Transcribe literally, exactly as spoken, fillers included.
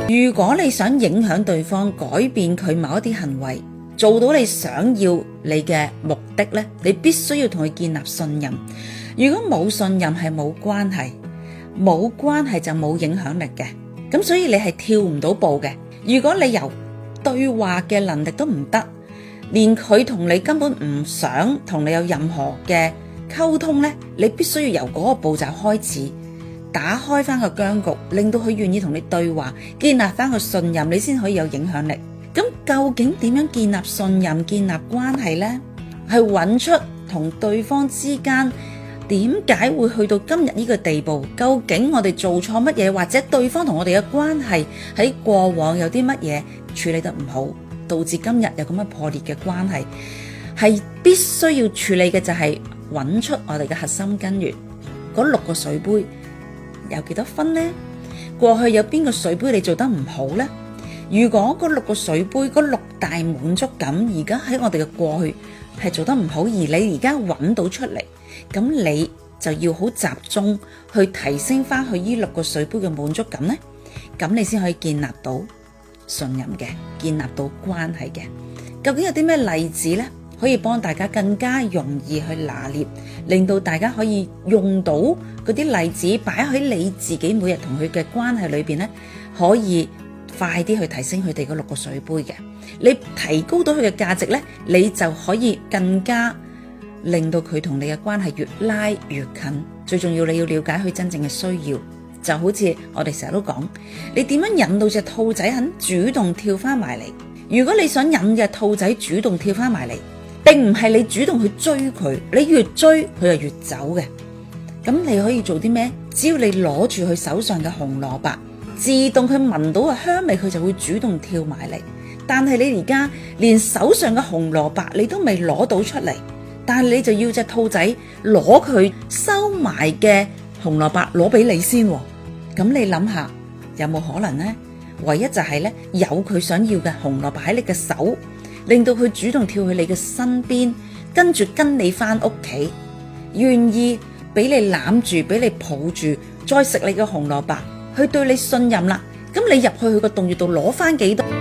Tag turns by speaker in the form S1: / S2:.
S1: 如果你想影響對方，改變佢某一啲行為，做到你想要你嘅目的呢，你必須要同佢建立信任。如果冇信任係冇關係，冇關係就冇影響力嘅。咁所以你係跳唔到步嘅。如果你由對話嘅能力都唔得，連佢同你根本唔想同你有任何嘅溝通呢，你必須要由嗰個步驟開始，打開翻個僵局，令到佢願意同你對話，建立翻個信任，你先可以有影響力。咁究竟點樣建立信任、建立關係呢？係揾出同對方之間點解會去到今日呢個地步？究竟我哋做錯乜嘢，或者對方同我哋嘅關係喺過往有啲乜嘢處理得唔好，導致今日有咁樣破裂嘅關係？係必須要處理嘅就係揾出我哋嘅核心根源。嗰六個水杯有幾多分呢？過去有邊個水杯你做得唔好呢？如果嗰六個水杯，嗰六大滿足感，而家喺我哋嘅過去係做得唔好，而你而家揾到出嚟，咁你就要好集中去提升翻去呢六個水杯嘅滿足感呢，咁你先可以建立到信任嘅，建立到關係嘅。究竟有啲咩例子呢？可以幫大家更加容易去拿捏，令到大家可以用到嗰啲例子擺喺你自己每日同佢嘅關係裏邊呢，可以快啲去提升佢哋嗰六個水杯嘅。你提高到佢嘅價值呢，你就可以更加令到佢同你嘅關係越拉越近。最重要，你要了解佢真正嘅需要。就好似我哋成日都講，你點樣引到隻兔仔肯主動跳翻埋嚟？如果你想引隻兔仔主動跳翻埋嚟，並唔係你主動去追佢，你越追佢就越走嘅。咁你可以做啲咩？只要你攞住佢手上嘅紅蘿蔔，自動佢聞到個香味，佢就會主動跳埋嚟。但係你而家連手上嘅紅蘿蔔你都未攞到出嚟，但係你就要隻兔仔攞佢收埋嘅紅蘿蔔攞俾你先。咁你諗下有冇可能呢？唯一就係咧，有佢想要嘅紅蘿蔔喺你嘅手，令到佢主動跳去你嘅身邊，跟住跟你翻屋企，願意俾你攬住，俾你抱住，再食你嘅紅蘿蔔，去對你信任啦。咁你入去佢個洞穴度攞翻幾多？